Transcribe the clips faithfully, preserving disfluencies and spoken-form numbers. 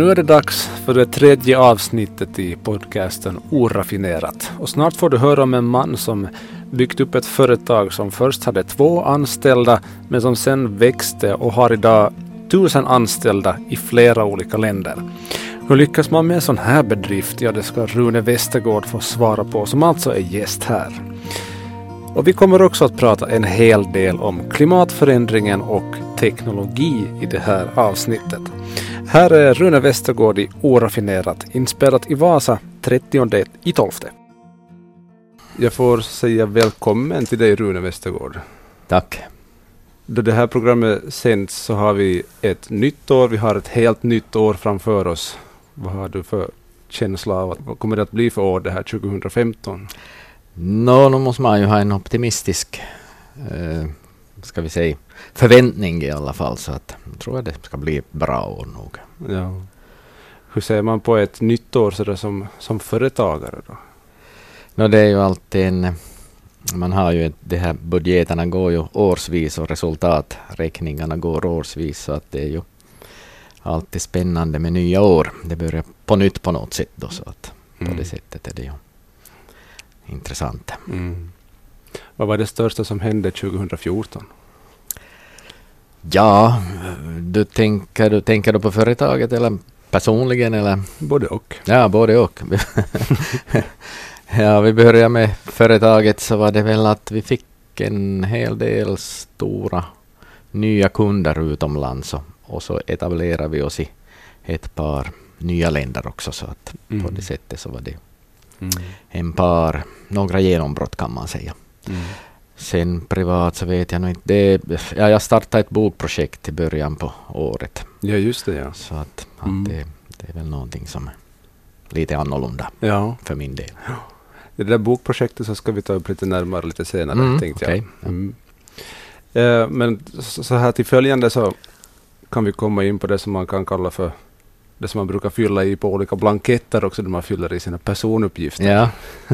Nu är det dags för det tredje avsnittet i podcasten Oraffinerat. Och snart får du höra om en man som byggt upp ett företag som först hade två anställda men som sen växte och har idag tusen anställda i flera olika länder. Hur lyckas man med en sån här bedrift? Ja, det ska Rune Westergård få svara på, som alltså är gäst här. Och vi kommer också att prata en hel del om klimatförändringen och teknologi i det här avsnittet. Här är Rune Westergård i Oraffinerat, inspelat i Vasa trettionde i tolfte. Jag får säga välkommen till dig, Rune Westergård. Tack. Då det här programmet sänds så har vi ett nytt år, vi har ett helt nytt år framför oss. Vad har du för känsla av att, vad kommer det att bli för år det här tjugohundrafemton? Nå, nu måste man ju ha en optimistisk eh, ska vi säga, förväntning i alla fall, så att jag tror att det ska bli bra år nog. Ja. Hur ser man på ett nytt år så där som, som företagare då? Nå, det är ju alltid en, man har ju det här, budgeterna går ju årsvis och resultaträkningarna går årsvis, så att det är ju alltid spännande med nya år. Det börjar på nytt på något sätt då, så att mm. på det sättet är det ju intressant. Mm. Vad var det största som hände tjugohundrafjorton? Ja, du tänker, du tänker du på företaget eller personligen? Eller? Både och. Ja, både och. Ja, vi började med företaget, så var det väl att vi fick en hel del stora nya kunder utomlands, och, och så etablerade vi oss i ett par nya länder också, så att mm. på det sättet så var det mm. en par, några genombrott kan man säga. Mm. Sen privat så vet jag nog inte. Det, ja, jag startade ett bokprojekt i början på året. Ja, just det, ja. Så att, att mm. det, det är väl någonting som är lite annorlunda ja. för min del. Ja. Det där bokprojektet så ska vi ta upp lite närmare lite senare, mm, tänkte okay. jag. Mm. Eh, men så, så här till följande så kan vi komma in på det som man kan kalla för det som man brukar fylla i på olika blanketter också, där man fyller i sina personuppgifter. Ja.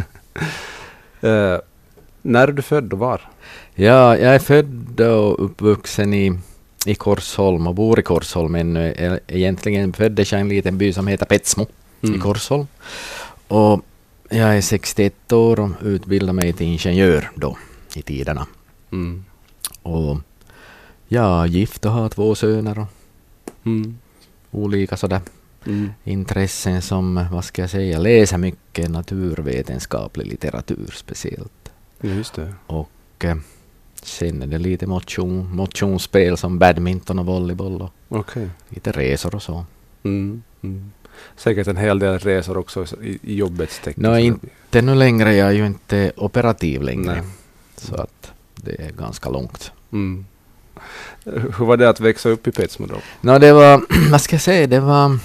eh, när är du född och var? Ja, jag är född och uppvuxen i, i Korsholm och bor i Korsholm ännu. Egentligen föddes jag i en liten by som heter Petsmo mm. i Korsholm. Och jag är sextioett år och utbildade mig till ingenjör då i tiderna. Mm. Och jag är gift och har två söner och mm. olika sådär mm. intressen som, vad ska jag säga, läser mycket naturvetenskaplig litteratur speciellt. Just det. Och eh, sen är det lite motion, motionsspel som badminton och volleyboll och okay. lite resor och så. Mm. Mm. Säkert en hel del resor också i, i jobbets tecken. Nå, inte nu längre, jag är ju inte operativ längre. Nej. Så att det är ganska långt. Mm. Hur var det att växa upp i Petsmo då? Nå, det var, vad ska jag säga, det var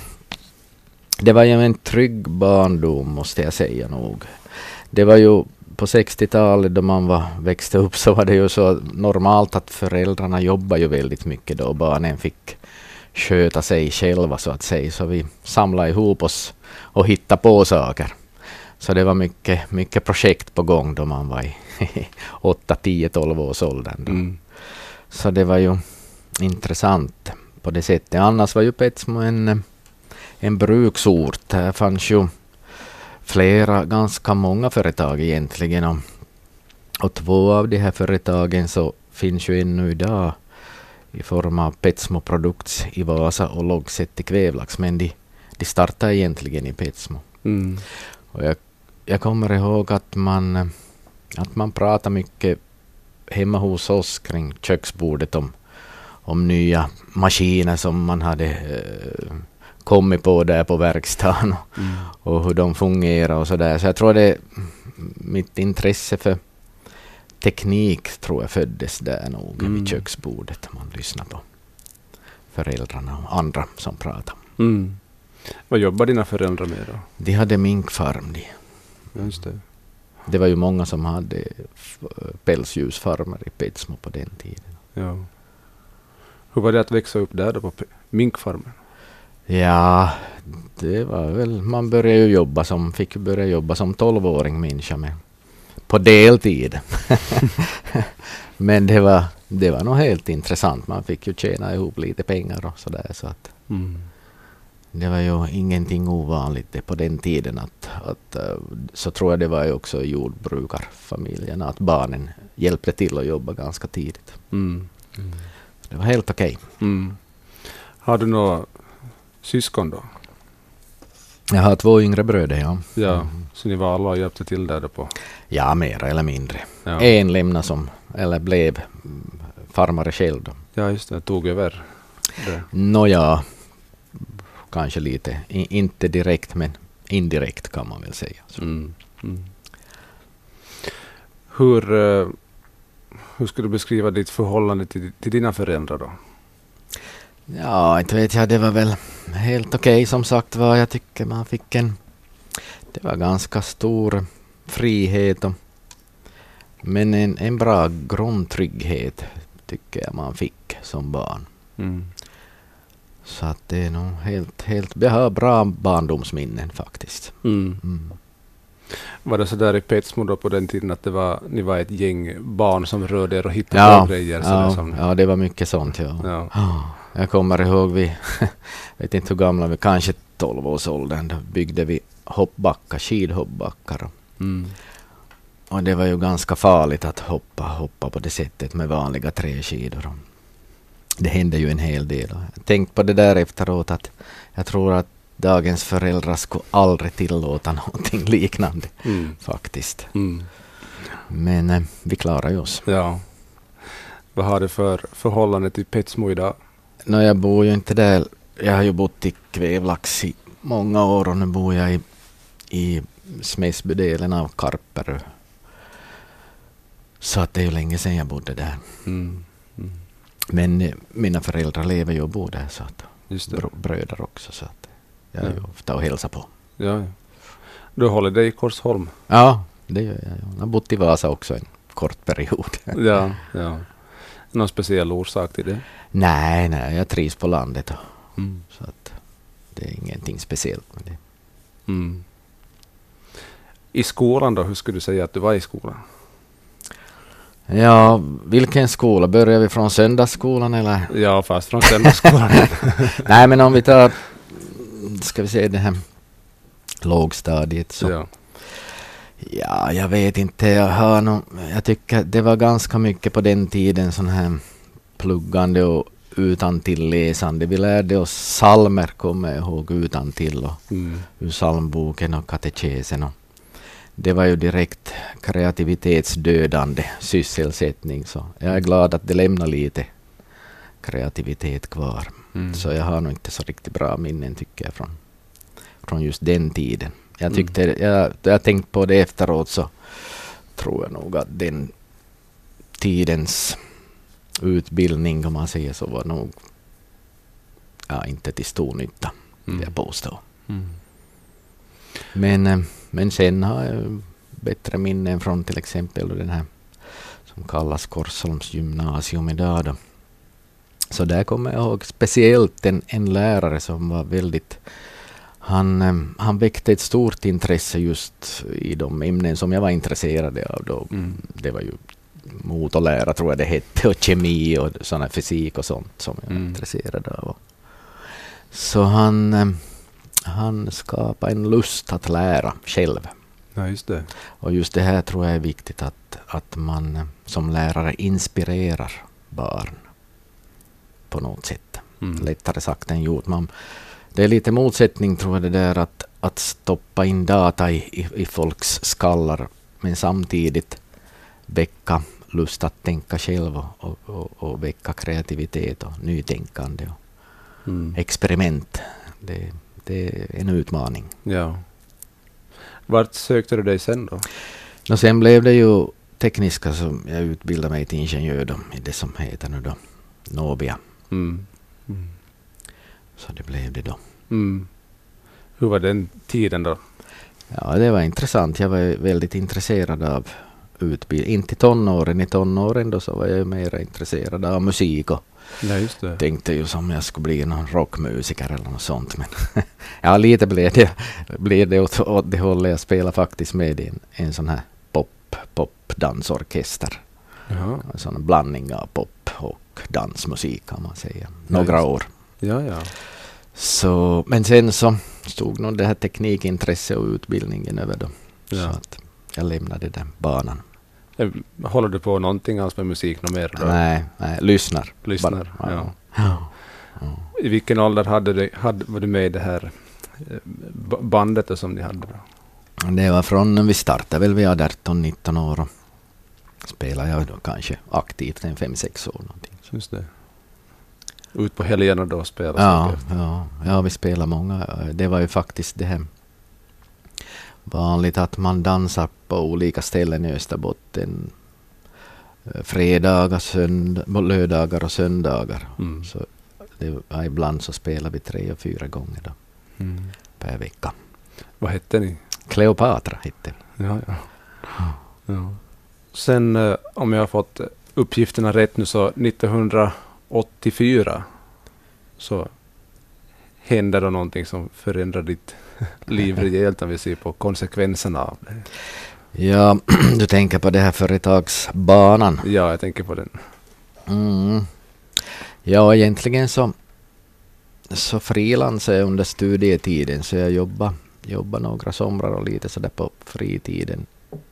det var ju en trygg barndom, måste jag säga nog. Det var ju på sextiotalet då man var, växte upp, så var det ju så normalt att föräldrarna jobbade ju väldigt mycket då. Barnen fick sköta sig själva så att säga. Så vi samlade ihop oss och hittade på saker. Så det var mycket, mycket projekt på gång då man var i åtta, tio, tolv års åldern. Mm. Så det var ju intressant på det sättet. Annars var ju Petsmo en, en bruksort. Här fanns ju flera, ganska många företag egentligen. Och, och två av de här företagen så finns ju ännu idag i form av Petsmo Products i Vasa och Logset i Kvävlax. Men de, de startade egentligen i Petsmo. Mm. Och jag, jag kommer ihåg att man, att man pratar mycket hemma hos oss kring köksbordet om, om nya maskiner som man hade eh, kommit på där på verkstaden och, mm. och hur de fungerar och sådär. Så jag tror det mitt intresse för teknik tror jag föddes där nog mm. vid köksbordet. Man lyssnar på föräldrarna och andra som pratar. Mm. Vad jobbar dina föräldrar med då? De hade minkfarm. De. Just det. Det var ju många som hade f- pälsdjursfarmer i Petsmo på den tiden. Ja. Hur var det att växa upp där då på p- minkfarmen? Ja, det var väl, man började ju jobba som, fick ju börja jobba som tolvåring människa med, på deltid. Men det var, det var nog helt intressant. Man fick ju tjäna ihop lite pengar och sådär. Så att mm. det var ju ingenting ovanligt det på den tiden att, att så tror jag det var ju också i jordbrukarfamiljerna att barnen hjälpte till att jobba ganska tidigt. Mm. Mm. Det var helt okej. Okay. Mm. Har du några syskon då? Jag har två yngre bröder, ja. Ja, mm. så ni var alla och hjälpte till där på? Ja, mer eller mindre. Ja. En lämnade som, eller blev farmare själv då. Ja, just det. Tog över det. Nåja, kanske lite. I, inte direkt, men indirekt kan man väl säga. Mm. Mm. Hur, uh, hur skulle du beskriva ditt förhållande till, till dina föräldrar då? Ja, inte vet jag. Det var väl helt okej okay, som sagt var. Jag tycker man fick en... Det var ganska stor frihet. Och, men en, en bra grundtrygghet tycker jag man fick som barn. Mm. Så att det är nog helt... helt jag har bra barndomsminnen faktiskt. Mm. Mm. Var det så där i Petsmo då på den tiden att det var, ni var ett gäng barn som rörde er och hittade ja, på grejer? Ja, som... ja, det var mycket sånt. Ja. Ja. Oh, jag kommer ihåg vi, vet inte hur gamla vi, kanske tolv års åldern, då byggde vi hoppbackar, skidhoppbackar. Mm. Och det var ju ganska farligt att hoppa, hoppa på det sättet med vanliga träskidor. Det hände ju en hel del. Jag tänkte på det där efteråt att jag tror att dagens föräldrar skulle aldrig tillåta någonting liknande mm. faktiskt. Mm. Men eh, vi klarar ju oss. Ja. Vad har du för förhållande till Petsmo idag? No, jag bor ju inte där. Jag har ju bott i Kvävlax i många år och nu bor jag i, i Smedsbydelen av Karperö. Så att det är ju länge sedan jag bodde där. Mm. Mm. Men eh, mina föräldrar lever ju och bor där så att Just det. Br- bröder också så att jag är ja. ju ofta och hälsar på. Ja, ja. Du håller dig i Korsholm? Ja, det gör jag. Jag har bott i Vasa också en kort period. ja, ja. Någon speciell orsak till det? Nej, nej, jag trivs på landet. Och, mm. så att det är ingenting speciellt med det. Mm. I skolan då, hur skulle du säga att du var i skolan? Ja, vilken skola? Börjar vi från söndagsskolan eller? Ja, fast från söndagsskolan. Nej, men om vi tar, ska vi säga det här lågstadiet så. Ja. Ja, jag vet inte. Jag, har nog, jag tycker det var ganska mycket på den tiden sån här pluggande och utantilläsande. Vi lärde oss psalmer, kommer jag ihåg, utantill och mm. ur psalmboken och katekesen. Och det var ju direkt kreativitetsdödande sysselsättning. Så jag är glad att det lämnar lite kreativitet kvar. Mm. Så jag har nog inte så riktigt bra minnen tycker jag från, från just den tiden. Jag tyckte, mm. jag, jag tänkt på det efteråt så tror jag nog att den tidens utbildning, om man säger så, var nog ja, inte till stor nytta, mm. jag påstår. Mm. Men, men sen har jag bättre minnen från till exempel den här som kallas Korsholms gymnasium idag då. Så där kommer jag ihåg speciellt en, en lärare som var väldigt Han, han väckte ett stort intresse just i de ämnen som jag var intresserad av då. Mm. Det var ju motorlära tror jag det hette och kemi och sån här fysik och sånt som jag var mm. intresserad av. Så han, han skapade en lust att lära själv. Ja, just det. Och just det här tror jag är viktigt att, att man som lärare inspirerar barn på något sätt. Mm. Lättare sagt än gjort. Man Det är lite motsättning tror jag det där att, att stoppa in data i, i, i folks skallar men samtidigt väcka lust att tänka själv och, och, och väcka kreativitet och nytänkande och mm. experiment. Det, det är en utmaning. Ja. Vart sökte du dig sen då? Och sen blev det ju tekniska som jag utbildade mig till ingenjör då, i det som heter nu då Nobia. Mm. Mm. Så det blev det då. Mm. Hur var den tiden då? Ja, det var intressant. Jag var väldigt intresserad av utbildning. Inte tonåren. I tonåren då så var jag mer intresserad av musik och ja, just det. Tänkte ju som jag skulle bli någon rockmusiker eller något sånt. Men ja, lite blev det, blev det åt, åt det hållet. Jag spelade faktiskt med i en, en sån här pop, pop-dansorkester. Jaha. En sån blandning av pop och dansmusik kan man säga. Några ja, år. Ja, ja. Så, men sen så stod nog det här teknikintresse och utbildningen över då. Ja. Så att jag lämnade den banan. Håller du på någonting alls med musik något mer? Då? Nej, nej, lyssnar. Lyssnar, Bara, ja. ja. Ja. I vilken ålder hade du, hade, var du med i det här b- bandet som ni hade då? Det var från, vi startade väl vid arton nitton år och spelade jag då kanske aktivt en fem sex år någonting. Just det. Ut på helgerna då spelade Ja, ja, ja, vi spelar många. Det var ju faktiskt det här vanligt att man dansar på olika ställen i Österbotten. Fredagar, sönd- lördagar och söndagar. Mm. Så det var, ibland så spelar vi tre och fyra gånger då, Mm. per vecka. Vad hette ni? Kleopatra hette vi. Ja, ja. Ja. Sen eh, om jag har fått uppgifterna rätt nu så nittonhundraåttiofyra så hände då någonting som förändrar ditt liv rejält om vi ser på konsekvenserna av det. Ja, du tänker på det här företagsbanan. Ja, jag tänker på den. Mm. Ja, egentligen så, så frilansade jag under studietiden, så jag jobbade, jobbade några somrar och lite sådär på fritiden.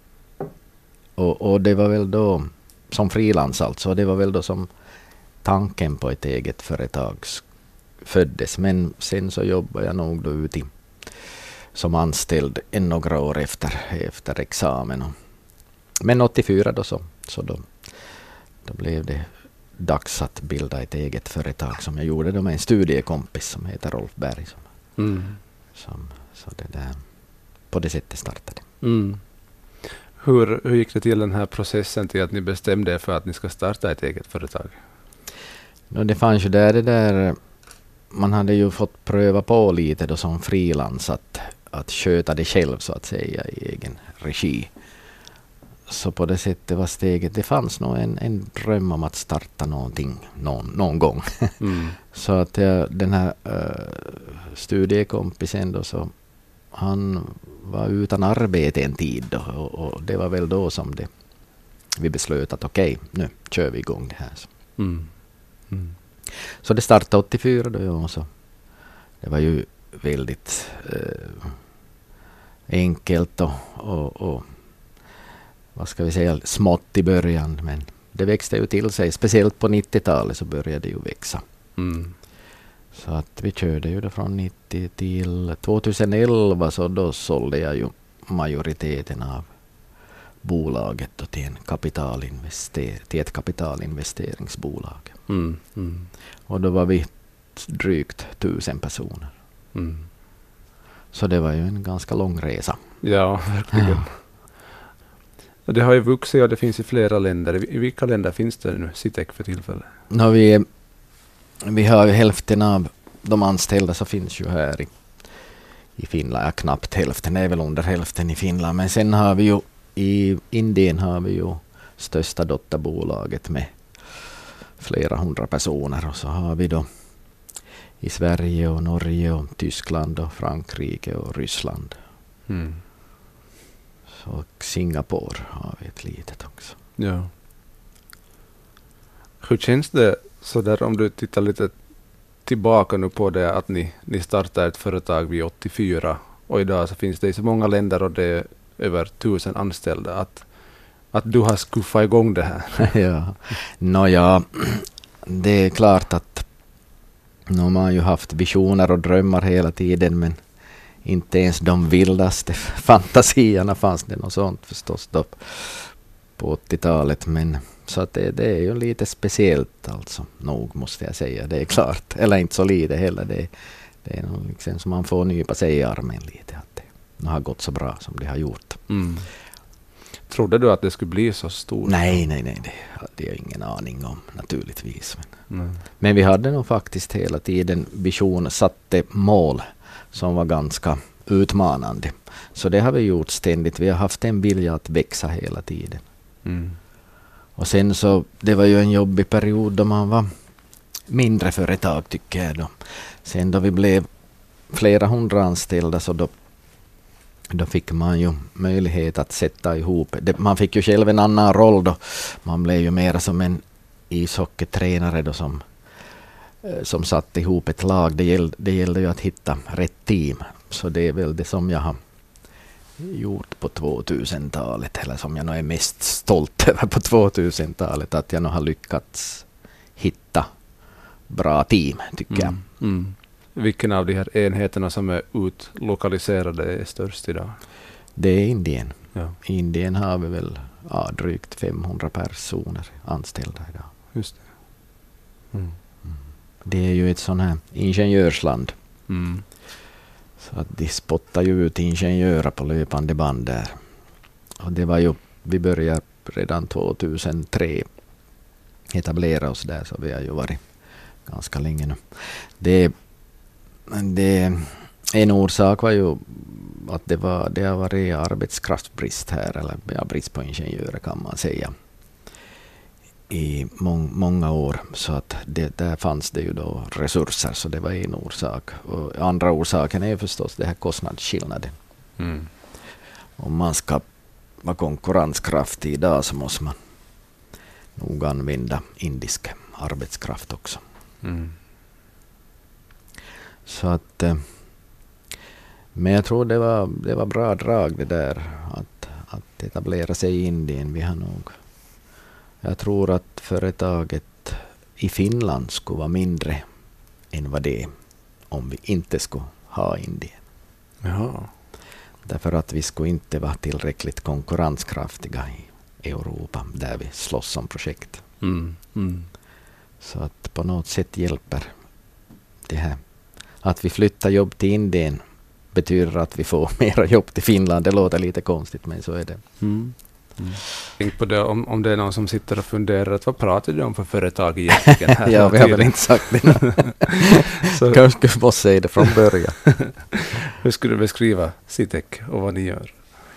Och, och det var väl då, som frilans alltså, det var väl då som tanken på ett eget företag föddes. Men sen så jobbade jag nog då ute som anställd en några år efter, efter examen. Och, men åttiofyra då så, så då, då blev det dags att bilda ett eget företag som jag gjorde då med en studiekompis som heter Rolf Berg. Som, Mm. som, så det där, på det sättet startade. Mm. Hur, hur gick det till den här processen till att ni bestämde er för att ni ska starta ett eget företag? No, det fanns ju där det där, man hade ju fått pröva på lite då som frilans att, att sköta det själv så att säga i egen regi. Så på det sättet var steget, det fanns nog en, en dröm om att starta någonting någon, någon gång. Mm. Så att jag, den här uh, studiekompisen då, så han var utan arbete en tid då, och, och det var väl då som det, vi beslöt att okej, okay, nu kör vi igång det här. Mm. Mm. Så det startade åttiofyra då, ja, så det var ju väldigt uh, enkelt och, och, och vad ska vi säga, smått i början, men det växte ju till sig. Speciellt på nittiotalet så började det ju växa. Mm. Så att vi körde ju då från nittio till tjugoelva, så då sålde jag ju majoriteten av bolaget då till, en kapitalinvester- till ett kapitalinvesteringsbolag. Mm. Mm. Och då var vi drygt tusen personer. Mm. Så det var ju en ganska lång resa. Ja, verkligen. Ja. Det har ju vuxit och det finns i flera länder. I vilka länder finns det nu Citec för tillfället? No, vi, vi har ju hälften av de anställda så finns ju här i, i Finland. Ja, knappt hälften, det är väl under hälften i Finland. Men sen har vi ju i Indien har vi ju största dotterbolaget med flera hundra personer. Och så har vi då i Sverige och Norge och Tyskland och Frankrike och Ryssland. Mm. Och Singapore har vi ett litet också. Ja. Hur känns det så där om du tittar lite tillbaka nu på det att ni, ni startade ett företag vid åttiofyra och idag så finns det i så många länder och det är över tusen anställda att, att du har skuffat igång det här? Ja, Nåja, det är klart att nu har man ju haft visioner och drömmar hela tiden, men inte ens de vildaste fantasierna fanns det något sånt förstås då på åttiotalet. Men så att det, det är ju lite speciellt alltså, nog måste jag säga, det är klart. Eller inte så lite heller, det, det är nog liksom som man får nypa sig i armen lite att det har gått så bra som det har gjort. Mm. Trodde du att det skulle bli så stort? Nej, nej, nej, det hade jag ingen aning om naturligtvis. Men, Mm. men vi hade nog faktiskt hela tiden vision, satte mål som var ganska utmanande. Så det har vi gjort ständigt. Vi har haft en vilja att växa hela tiden. Mm. Och sen så, det var ju en jobbig period då man var mindre företag tycker jag då. Sen då vi blev flera hundra anställda så då, då fick man ju möjlighet att sätta ihop. Det, man fick ju själv en annan roll då. Man blev ju mer som en ishockeytränare då som som satt ihop ett lag. Det gällde, det gällde ju att hitta rätt team. Så det är väl det som jag har gjort på tvåtusentalet, eller som jag nog är mest stolt över på tvåtusentalet, att jag nog har lyckats hitta bra team, tycker Mm. jag. Mm. Vilken av de här enheterna som är utlokaliserade är störst idag? Det är Indien. Ja. I Indien har vi väl ja, drygt femhundra personer anställda idag. Just det. Mm. Det är ju ett sån här ingenjörsland. Mm. Så att de spottar ju ut ingenjörer på löpande band där. Och det var ju, vi började redan tvåtusentre etablera oss där, så vi har ju varit ganska länge nu. Det, det, en orsak var ju att det, var, det har varit arbetskraftsbrist här, eller ja, brist på ingenjörer kan man säga, i mång, många år. Så att det, där fanns det ju då resurser, så det var en orsak. Och andra orsaken är förstås det här kostnadsskillnaden. Mm. Om man ska vara konkurrenskraftig idag så måste man nog använda indisk arbetskraft också. Mm. Så att, men jag tror det var, det var bra drag det där att, att etablera sig i Indien. Vi har nog, jag tror att företaget i Finland skulle vara mindre än vad det är om vi inte skulle ha Indien. Jaha. Därför att vi skulle inte vara tillräckligt konkurrenskraftiga i Europa där vi slåss om projekt. Mm. Mm. Så att på något sätt hjälper det här. Att vi flyttar jobb till Indien betyder att vi får mera jobb till Finland. Det låter lite konstigt, men så är det. Mm. Mm. Tänk på det, om, om det är någon som sitter och funderar att vad pratar du om för företag egentligen? Här Ja, vi har väl inte sagt det. Så kanske vi måste säga det från början. Hur skulle du beskriva Citec och vad ni gör?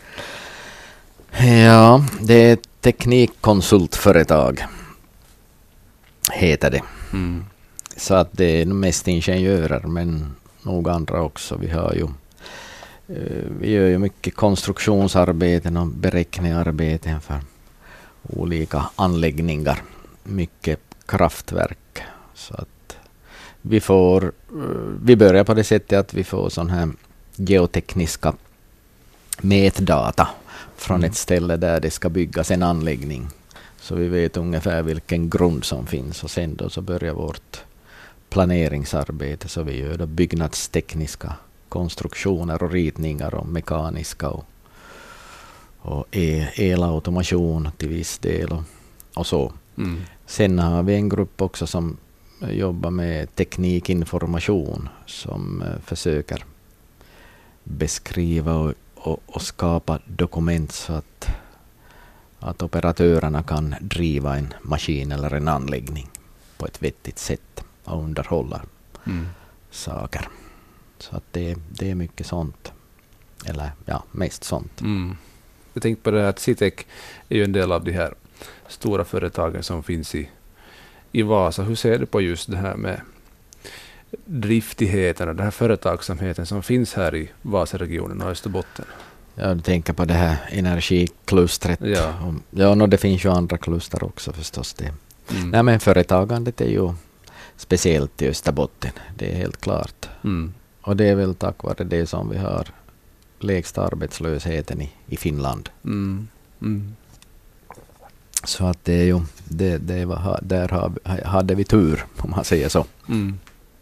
Ja, det är ett teknikkonsultföretag, heter det. Mm. Så att det är mest ingenjörer, men nog andra också. Vi har ju Vi gör ju mycket konstruktionsarbeten och beräkningsarbeten för olika anläggningar. Mycket kraftverk. Så att vi får, vi börjar på det sättet att vi får sån här geotekniska mätdata från Mm. ett ställe där det ska byggas en anläggning. Så vi vet ungefär vilken grund som finns, och sen då så börjar vårt planeringsarbete. Så vi gör då byggnadstekniska konstruktioner och ritningar och mekaniska och, och el, elautomation till viss del och, och så. Mm. Sen har vi en grupp också som jobbar med teknikinformation, som uh, försöker beskriva och, och, och skapa dokument så att, att operatörerna kan driva en maskin eller en anläggning på ett vettigt sätt och underhålla Mm. saker. Så att det, det är mycket sånt. Eller ja, mest sånt. Mm. Jag tänkte på det här att Citec är ju en del av de här stora företagen som finns i, i Vasa. Hur ser du på just det här med driftigheten och den här företagsamheten som finns här i Vasaregionen och Österbotten? Ja, du tänker på det här energiklustret. Ja. Och, ja, no, det finns ju andra kluster också förstås. Det. Mm. Nej, men företagandet är ju speciellt i Österbotten. Det är helt klart. Mm. Och det är väl tack vare det som vi har lägsta arbetslösheten i, i Finland. Mm. Mm. Så att det är ju, det, det var, där har, hade vi tur, om man säger så. Mm.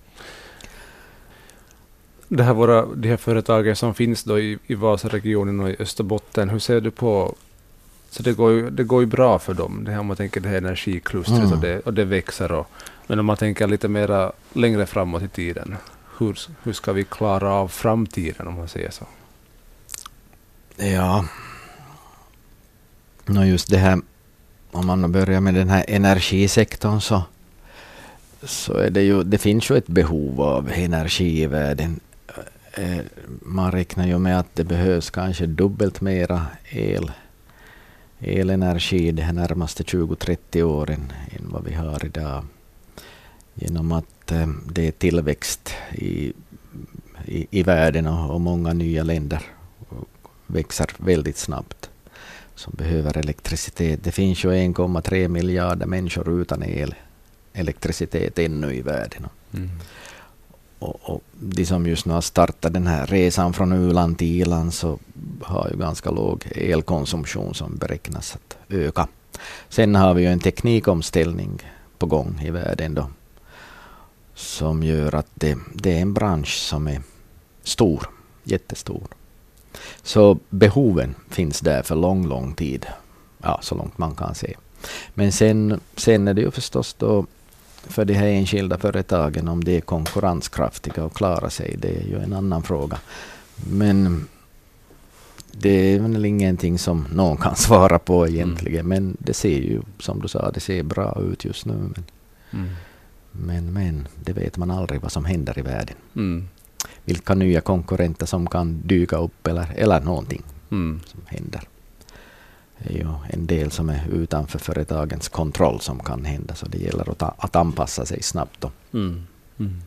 Det här våra, de här företagen som finns då i, i Vasaregionen och i Österbotten, hur ser du på, så det går ju, det går ju bra för dem, det här, om man tänker det här energiklustret Mm. och, det, och det växer, och, men om man tänker lite mera längre framåt i tiden, hur, hur ska vi klara av framtiden, om man säger så? Ja, no just det här, om man börjar med den här energisektorn, så, så är det ju, det finns ju ett behov av energi i världen. Eh, man räknar ju med att det behövs kanske dubbelt mera el, elenergi de här närmaste tjugo till trettio åren än vad vi har idag. Genom att eh, det är tillväxt i, i, i världen, och, och många nya länder växer väldigt snabbt som behöver elektricitet. Det finns ju en komma tre miljarder människor utan el, elektricitet ännu i världen. Mm. Och, och de som just nu har startat den här resan från U-land till I-land så har ju ganska låg elkonsumtion som beräknas att öka. Sen har vi ju en teknikomställning på gång i världen då, som gör att det, det är en bransch som är stor, jättestor. Så behoven finns där för lång, lång tid. Ja, så långt man kan se. Men sen, sen är det ju förstås då för de här enskilda företagen om de är konkurrenskraftiga och klarar sig. Det är ju en annan fråga. Men det är väl ingenting som någon kan svara på egentligen. Mm. Men det ser ju, som du sa, det ser bra ut just nu. Men, mm. men, men det vet man aldrig vad som händer i världen. Mm. Vilka nya konkurrenter som kan dyka upp eller, eller någonting mm. som händer. Det är ju en del som är utanför företagens kontroll som kan hända. Så det gäller att, att anpassa sig snabbt då. Mm. Mm.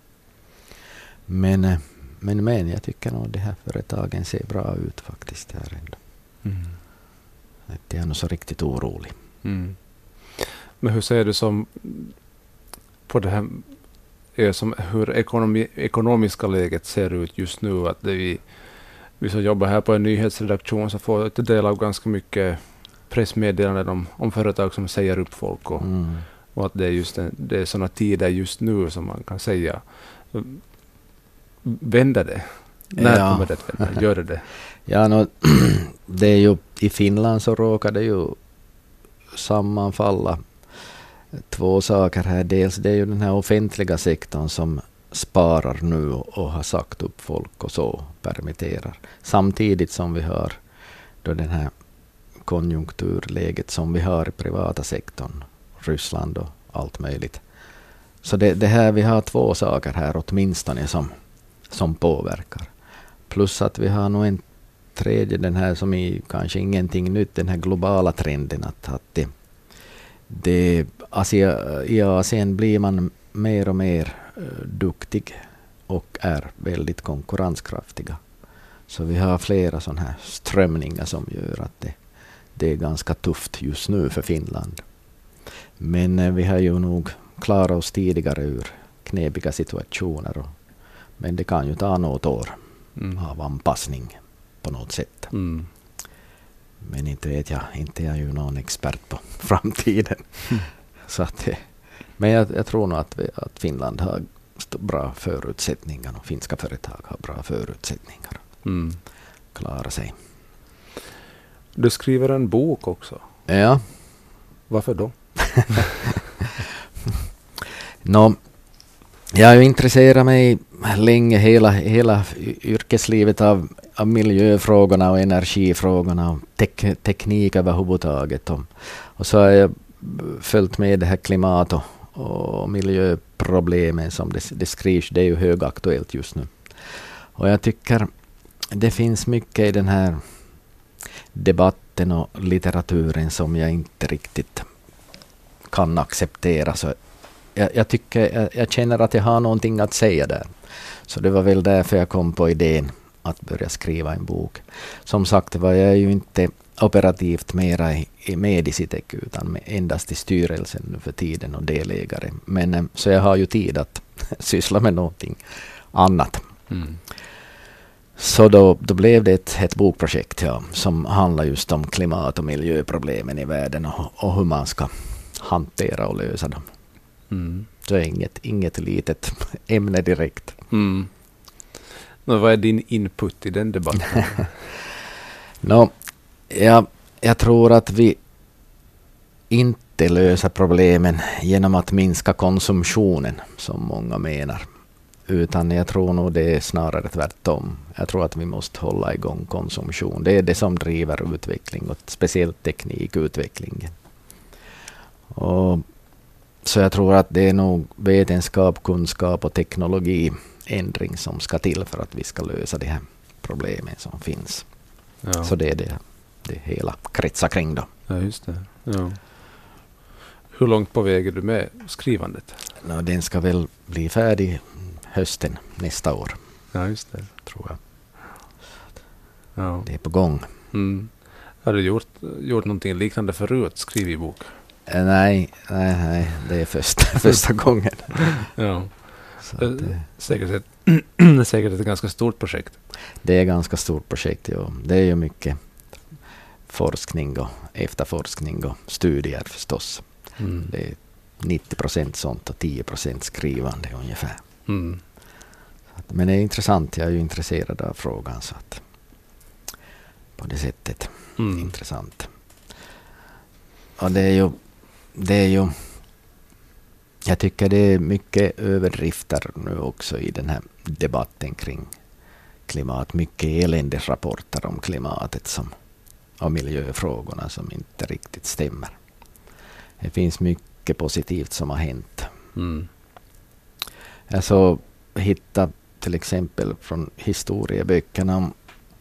Men, men, men jag tycker nog de här företagen ser bra ut faktiskt här ändå. Mm. Jag är nog så riktigt orolig. Mm. Men hur ser du som på det här är som hur ekonomi, ekonomiska läget ser ut just nu? Att det vi, vi som jobbar här på en nyhetsredaktion så får vi del av ganska mycket pressmeddelanden om, om företag som säger upp folk och, mm. och att det är just en, det är sådana tider just nu som man kan säga. Vänder det? När ja. kommer det att vända? Gör det det? Ja, no, det är ju i Finland så råkar det ju sammanfalla två saker här. Dels det är ju den här offentliga sektorn som sparar nu och har sagt upp folk och så permitterar. Samtidigt som vi har då den här konjunkturläget som vi har i privata sektorn, Ryssland och allt möjligt. Så det, det här, vi har två saker här åtminstone som, som påverkar. Plus att vi har nog en tredje, den här som är kanske ingenting nytt, den här globala trenden att, att det, det Asia, i Asien blir man mer och mer uh, duktig och är väldigt konkurrenskraftiga. Så vi har flera sådana här strömningar som gör att det, det är ganska tufft just nu för Finland. Men uh, vi har ju nog klarat oss tidigare ur knepiga situationer. Och, men det kan ju ta något år mm. av anpassning på något sätt. Mm. Men inte vet jag, inte är jag ju någon expert på framtiden. Mm. Så att, men jag, jag tror nog att, vi, att Finland har bra förutsättningar och finska företag har bra förutsättningar. Mm. Klara sig. Du skriver en bok också. Ja. Varför då? Nå, jag har ju intresserat mig länge, hela, hela yrkeslivet av, av miljöfrågorna och energifrågorna och tek, teknik överhuvudtaget. Och, och så har jag följt med det här klimat- och, och miljöproblemen som det, det skrivs. Det är ju högaktuellt just nu. Och jag tycker det finns mycket i den här debatten och litteraturen som jag inte riktigt kan acceptera. Så jag, jag, tycker, jag, jag känner att jag har någonting att säga där. Så det var väl därför jag kom på idén att börja skriva en bok. Som sagt var jag är ju inte operativt mera i, i med i Citec utan endast i styrelsen nu för tiden och delägare. Men så jag har ju tid att syssla med någonting annat. Mm. Så då, då blev det ett, ett bokprojekt ja, som handlar just om klimat- och miljöproblemen i världen och, och hur man ska hantera och lösa dem. Mm. Så inget, inget litet ämne direkt. Mm. Men vad är din input i den debatten? no, ja, jag tror att vi inte löser problemen genom att minska konsumtionen som många menar. Utan jag tror nog det är snarare tvärtom. Jag tror att vi måste hålla igång konsumtion. Det är det som driver utveckling och speciellt teknikutvecklingen. Och så jag tror att det är nog vetenskap, kunskap och teknologiändring som ska till för att vi ska lösa de här problemen som finns. Ja. Så det är det, det hela kretsar kring då. Ja, just det. Ja. Hur långt på väg är du med skrivandet? No, den ska väl bli färdig hösten nästa år. Ja, just det. Tror jag. Ja. Det är på gång. Mm. Har du gjort, gjort någonting liknande förut? Skrivit bok? Nej, nej, nej, det är första, första gången. Ja. Så att, eh, säkert, ett, säkert ett ganska stort projekt. Det är ett ganska stort projekt, ja. Det är ju mycket forskning och efterforskning och studier förstås. Mm. Det är nittio procent sånt och tio procent skrivande ungefär. Mm. Så att, men det är intressant, jag är ju intresserad av frågan så att på det sättet mm. intressant. Och det är ju det är ju jag tycker det är mycket överdrifter nu också i den här debatten kring klimat. Mycket eländesrapporter om klimatet som, och miljöfrågorna som inte riktigt stämmer. Det finns mycket positivt som har hänt. Mm. Jag så hittade till exempel från historieböckerna om,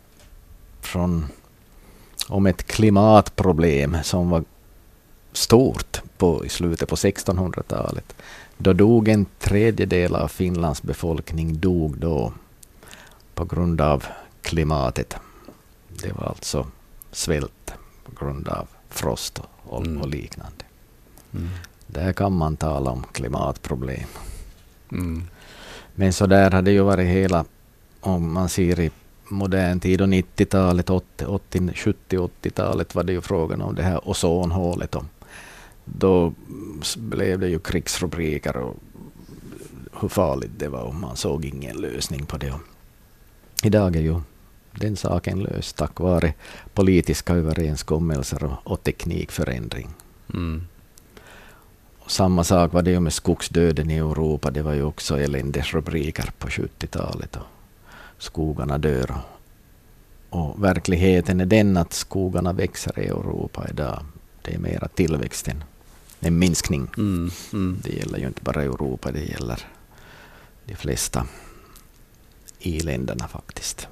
från, om ett klimatproblem som var stort på, i slutet på sextonhundratalet. Då dog en tredjedel av Finlands befolkning dog då på grund av klimatet. Det var alltså svält på grund av frost och, mm. och liknande. Mm. Där kan man tala om klimatproblem. Mm. Men så där hade ju varit hela, om man ser i modern tid och nittiotalet, åttio, sjuttio, åttiotalet var det ju frågan om det här ozonhålet. Och då blev det ju krigsrubriker och hur farligt det var och man såg ingen lösning på det. Och idag är ju den saken löst tack vare politiska överenskommelser och, och teknikförändring. Mm. Och samma sak var det ju med skogsdöden i Europa. Det var ju också eländesrubriker på sjuttiotalet. Och skogarna dör. Och verkligheten är den att skogarna växer i Europa idag. Det är mera tillväxten. En minskning. Mm, mm. Det gäller ju inte bara Europa, det gäller de flesta i-länderna faktiskt.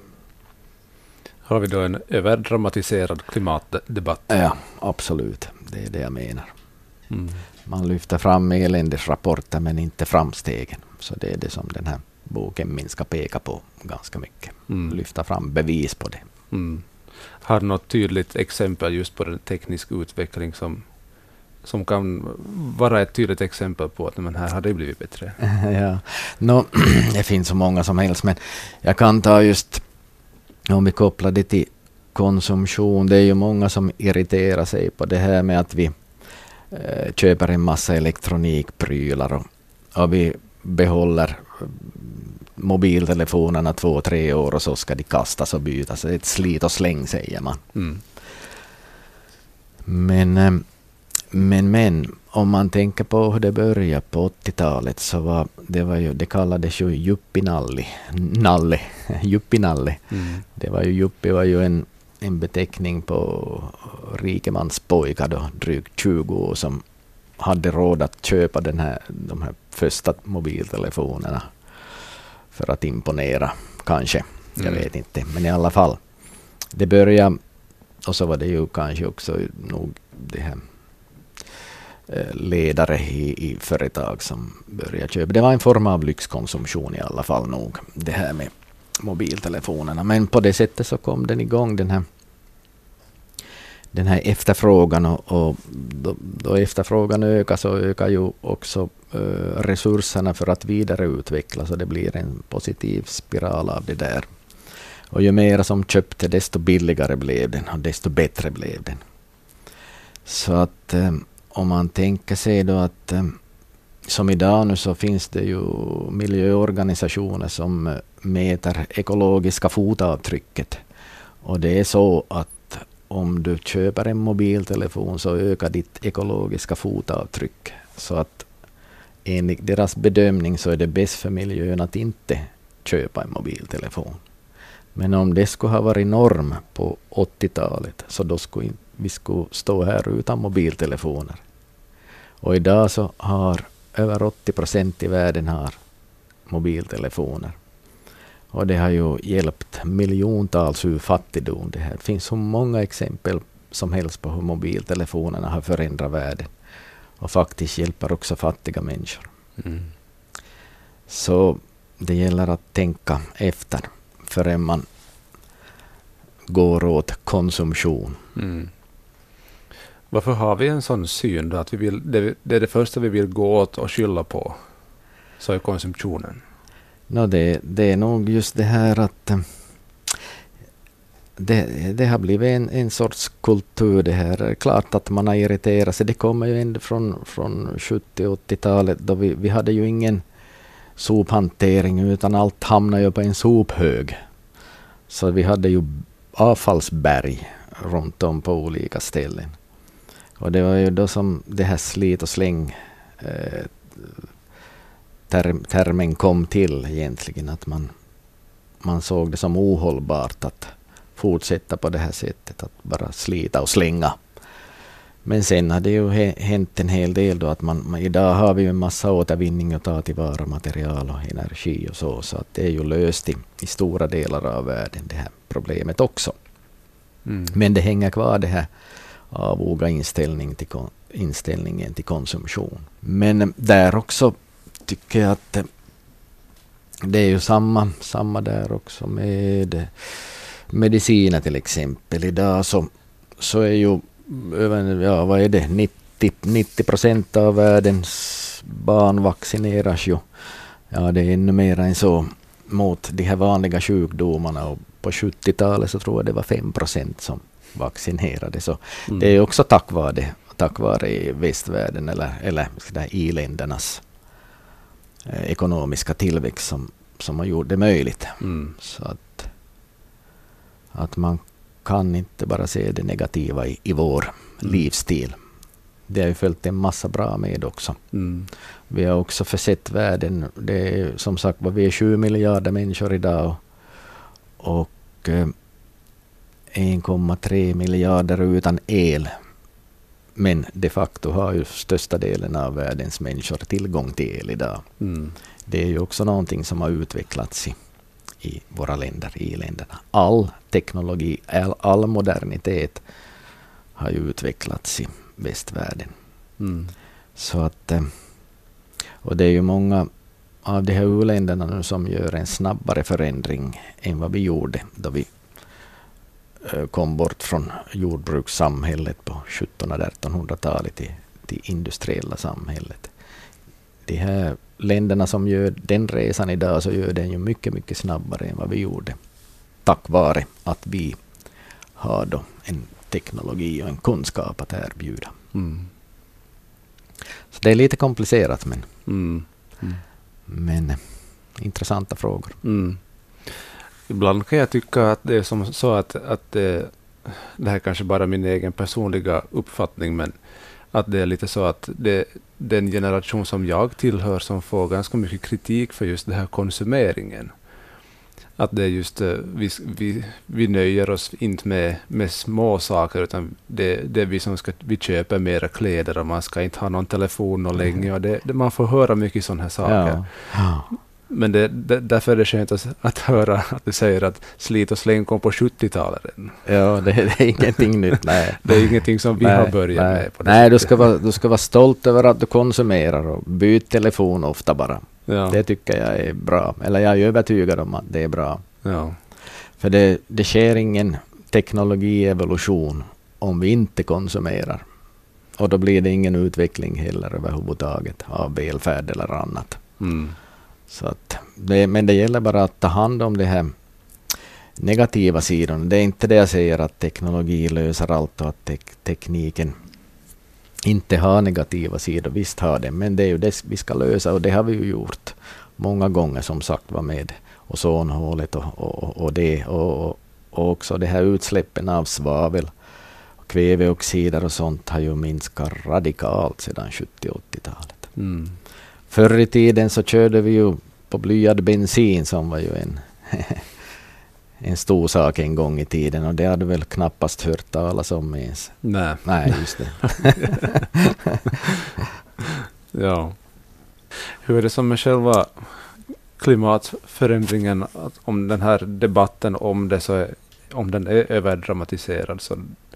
Har vi då en överdramatiserad klimatdebatt? Ja, absolut. Det är det jag menar. Mm. Man lyfter fram eländesrapporter men inte framstegen. Så det är det som den här boken min ska peka på ganska mycket. Mm. Lyfta fram bevis på det. Mm. Har du något tydligt exempel just på den tekniska utveckling som, som kan vara ett tydligt exempel på att men här har det blivit bättre? Ja, no, det finns så många som helst men jag kan ta just om vi kopplar det till konsumtion. Det är ju många som irriterar sig på det här med att vi eh, köper en massa elektronikprylar och, och vi behåller mobiltelefonerna två, tre år och så ska de kastas och bytas. Det är ett slit och släng säger man. Mm. Men, men, men om man tänker på hur det började på åttiotalet så var det, var ju, det kallades ju juppinalli. Nalle. Juppinalle. Mm. Det var ju, juppi var ju en, en beteckning på rikemanspojkar då, drygt tjugo år som hade råd att köpa den här, de här första mobiltelefonerna för att imponera, kanske. Jag mm. vet inte. Men i alla fall, det började, och så var det ju kanske också nog det här eh, ledare i, i företag som började köpa. Det var en form av lyxkonsumtion i alla fall nog, det här med mobiltelefonerna. Men på det sättet så kom den igång, den här den här efterfrågan och, och då, då efterfrågan ökar så ökar ju också uh, resurserna för att vidareutveckla så det blir en positiv spiral av det där. Och ju mer som köpte desto billigare blev den och desto bättre blev den. Så att um, om man tänker sig då att um, som idag nu så finns det ju miljöorganisationer som uh, mäter ekologiska fotavtrycket och det är så att om du köper en mobiltelefon så ökar ditt ekologiska fotavtryck. Så att enligt deras bedömning så är det bäst för miljön att inte köpa en mobiltelefon. Men om det skulle ha varit norm på åttiotalet så då skulle vi skulle stå här utan mobiltelefoner. Och idag så har över åttio procent i världen har mobiltelefoner. Och det har ju hjälpt miljontals ur fattigdom. Det här finns så många exempel som helst på hur mobiltelefonerna har förändrat världen. Och faktiskt hjälper också fattiga människor. Mm. Så det gäller att tänka efter förrän man går åt konsumtion. Mm. Varför har vi en sån syn då? Att vi vill, det, det är det första vi vill gå åt och skylla på? så är konsumtionen? No, det, det är nog just det här att det, det har blivit en, en sorts kultur det här. Det är klart att man har irriterat sig. Det kommer ju ändå från, från sjuttio- och åttiotalet då vi, vi hade ju ingen sophantering utan allt hamnade ju på en sophög. Så vi hade ju avfallsberg runt om på olika ställen. Och det var ju då som det här slit och släng eh, term, termen kom till egentligen. Att man, man såg det som ohållbart att fortsätta på det här sättet. Att bara slita och slänga. Men sen har det ju hänt en hel del då att man, man idag har vi ju en massa återvinning och ta tillvara material och energi och så. Så att det är ju löst i, i stora delar av världen det här problemet också. Mm. Men det hänger kvar det här avoga inställning till, inställningen till konsumtion. Men där också tycker jag att det, det är ju samma, samma där också med mediciner till exempel. Idag så, så är ju ja, vad är det? nittio procent av världens barn vaccineras ju. Ja, det är ännu mer än så mot de här vanliga sjukdomarna. Och på sjuttiotalet så tror jag det var fem procent som vaccinerade. Så mm. det är också tack vare det, tack vare västvärlden eller, eller i-ländernas eh, ekonomiska tillväxt som, som har gjort det möjligt. Mm. Så att, att man kan inte bara se det negativa i, i vår mm. livsstil. Det har ju följt en massa bra med också. Mm. Vi har också försett världen. Det är, som sagt vad vi är sju miljarder människor idag. Och, och eh, en komma tre miljarder utan el. Men de facto har ju största delen av världens människor tillgång till el idag. Mm. Det är ju också någonting som har utvecklats i i våra länder, i länderna. All teknologi, all, all modernitet har ju utvecklats i västvärlden. Mm. Så att, och det är ju många av de här u-länderna nu som gör en snabbare förändring än vad vi gjorde då vi kom bort från jordbrukssamhället på sjuttonhundra- och artonhundratalet till det industriella samhället. De här länderna som gör den resan idag så gör den ju mycket, mycket snabbare än vad vi gjorde. Tack vare att vi har då en teknologi och en kunskap att erbjuda. Mm. Så det är lite komplicerat men, mm. Mm. men eh, intressanta frågor. Mm. Ibland kan jag tycka att det är som så att, att det, det här är kanske bara min egen personliga uppfattning men att det är lite så att det, den generation som jag tillhör som får ganska mycket kritik för just det här konsumeringen. Att det är just, vi, vi, vi nöjer oss inte med, med små saker utan det, det är vi som ska, vi köper mera kläder och man ska inte ha någon telefon och länge och det, det, man får höra mycket sådana här saker. Ja. Men det, det, därför är det skönt att, att höra att du säger att slit och släng kom på sjuttiotalet. Ja, det, det är ingenting nytt. Nej. Det är ingenting som vi nej, har börjat nej. med. På det nej, du ska, vara, du ska vara stolt över att du konsumerar och byt telefon ofta bara. Ja. Det tycker jag är bra. Eller jag är övertygad om att det är bra. Ja. För det, det sker ingen teknologievolution om vi inte konsumerar. Och då blir det ingen utveckling heller överhuvudtaget av välfärd eller annat. Mm. Så att det, men det gäller bara att ta hand om det här negativa sidan. Det är inte det jag säger att teknologi löser allt och att te- tekniken inte har negativa sidor. Visst har det, men det är ju det vi ska lösa och det har vi ju gjort många gånger som sagt var med ozonhålet och, och, och det och, och också det här utsläppen av svavel och kväveoxider och sånt har ju minskat radikalt sedan sjuttio- och åttiotalet. Mm. Förr i tiden så körde vi ju på blyad bensin som var ju en, en stor sak en gång i tiden och det hade väl knappast hört talas om ens. Nej. Nej, just det. Ja. Hur är det som med själva klimatförändringen, att om den här debatten om det så är, om den är överdramatiserad så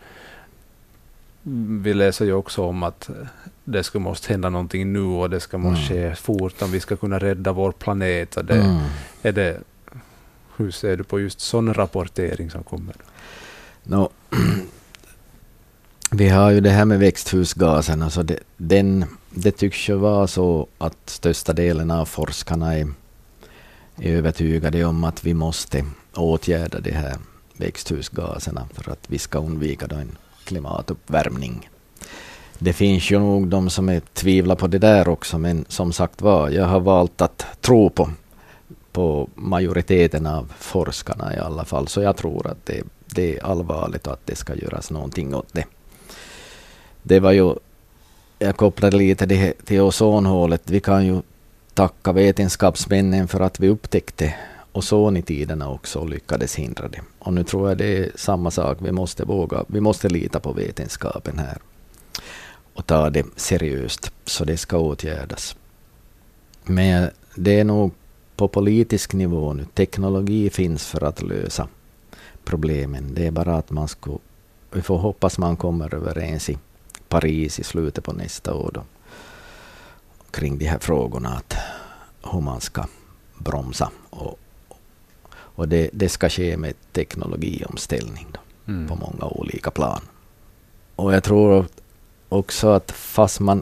vi läser ju också om att det ska måste hända någonting nu och det ska måste mm. ske fort om vi ska kunna rädda vår planet. Och det, mm. är det, hur ser du på just sån rapportering som kommer? No, Vi har ju det här med växthusgaserna, så det, den, det tycks ju vara så att största delen av forskarna är, är övertygade om att vi måste åtgärda de här växthusgaserna för att vi ska undvika då en klimatuppvärmning. Det finns ju nog de som är tvivlar på det där också, men som sagt var, jag har valt att tro på, på majoriteten av forskarna i alla fall, så jag tror att det, det är allvarligt och att det ska göras någonting åt det. Det var ju, jag kopplade lite det till ozonhålet. Vi kan ju tacka vetenskapsmännen för att vi upptäckte ozon i tiderna också och lyckades hindra det. Och nu tror jag det är samma sak. Vi måste våga, vi måste lita på vetenskapen här och ta det seriöst, så det ska åtgärdas. Men det är nog på politisk nivå nu. Teknologi finns för att lösa problemen. Det är bara att man ska, vi får hoppas man kommer överens i Paris i slutet på nästa år då, kring de här frågorna, att hur man ska bromsa, och, och det, det ska ske med teknologiomställning då, mm. på många olika plan. Och jag tror också att fast man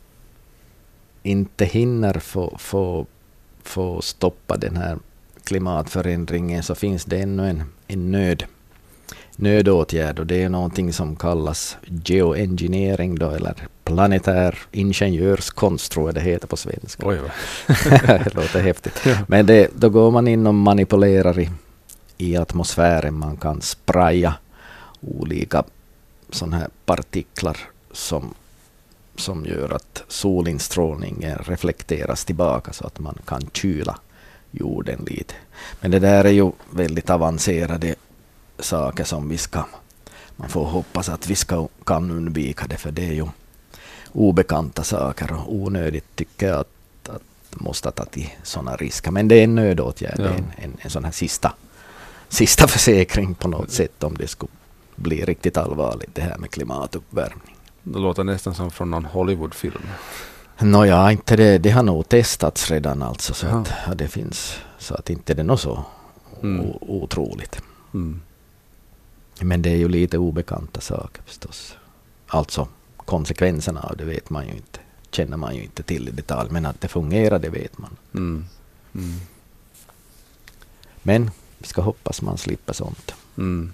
inte hinner få, få, få stoppa den här klimatförändringen, så finns det ännu en, en nöd nödåtgärd, och det är någonting som kallas geoengineering då, eller planetär ingenjörskonst tror jag det heter på svenska. Oj, det låter häftigt. Ja. Men det, då går man in och manipulerar i, i atmosfären. Man kan spraya olika sådana här partiklar som, som gör att solinstrålningen reflekteras tillbaka, så att man kan kyla jorden lite. Men det där är ju väldigt avancerade saker som vi ska, man får hoppas att vi ska kan undvika det, för det är ju obekanta saker och onödigt tycker jag att, att måste ta till sådana risker. Men det är en nödåtgärd, ja. en, en, en sån här sista, sista försäkring på något sätt om det skulle bli riktigt allvarligt det här med klimatuppvärmning. Det låter nästan som från någon Hollywoodfilm. Nåja, inte det, det har nog testats redan alltså, så att ja, det finns, så att inte det är något så mm. o, otroligt. Mm. Men det är ju lite obekanta saker förstås. Alltså konsekvenserna av det vet man ju inte, känner man ju inte till i detalj, men att det fungerar det vet man. Mm. Mm. Men vi ska hoppas man slipper sånt. Mm.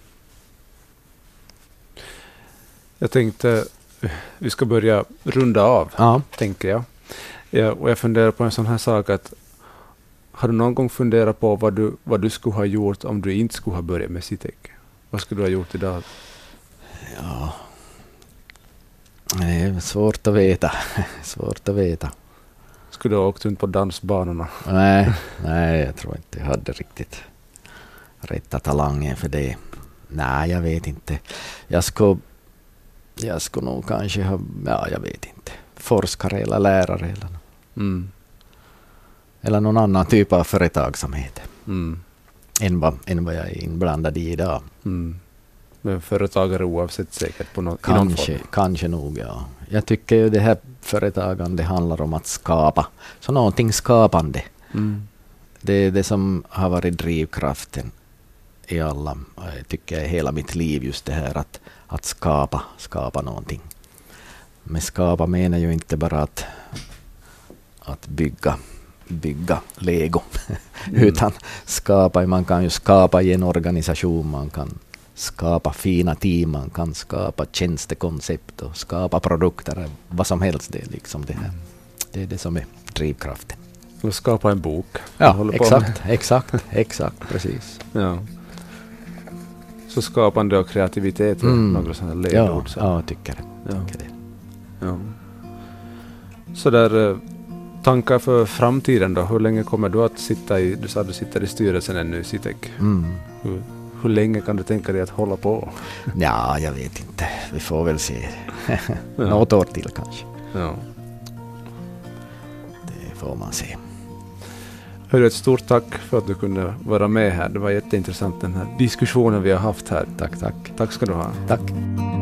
Jag tänkte vi ska börja runda av, ja. tänker jag. Ja, och jag funderar på en sån här sak att har du någon gång funderat på vad du, vad du skulle ha gjort om du inte skulle ha börjat med Citec? Vad skulle du ha gjort idag? Ja, det är svårt att veta. svårt att veta. Skulle du ha åkt runt på dansbanorna? Nej, nej, jag tror inte jag hade riktigt rätta talangen för det. Nej, jag vet inte. Jag skulle, jag skulle nog kanske ha, ja, jag vet inte. Forskare eller lärare eller, mm. eller någon annan typ av företagsamhet. Mm. Än vad, än vad jag är inblandad i idag. Mm. Men företagare oavsett säkert på något, kanske, kanske nog, ja. Jag tycker ju det här företagande handlar om att skapa. Så någonting skapande. Mm. Det är det som har varit drivkraften i alla, jag tycker hela mitt liv, just det här att, att skapa, skapa någonting. Men skapa menar ju inte bara att, att bygga bygga Lego, mm. utan skapa, man kan ju skapa i en organisation, man kan skapa fina team, man kan skapa tjänstekoncept och skapa produkter, vad som helst. Det är liksom det här. Mm. Det är det som är drivkraften. Och skapa en bok. Ja, exakt, exakt, exakt, precis. Ja. Så skapande och kreativitet, mm. några sådana ledord. Ja, ja, jag tycker det. Ja. Tycker det. Ja. Så där tankar för framtiden då? Hur länge kommer du att sitta i, du sa att du sitter i styrelsen ännu i Citec. Mm. Hur, hur länge kan du tänka dig att hålla på? Ja, jag vet inte. Vi får väl se. Ja. Något år till kanske. Ja. Det får man se. Hörru, ett stort tack för att du kunde vara med här. Det var jätteintressant den här diskussionen vi har haft här. Tack, tack. Tack ska du ha. Tack.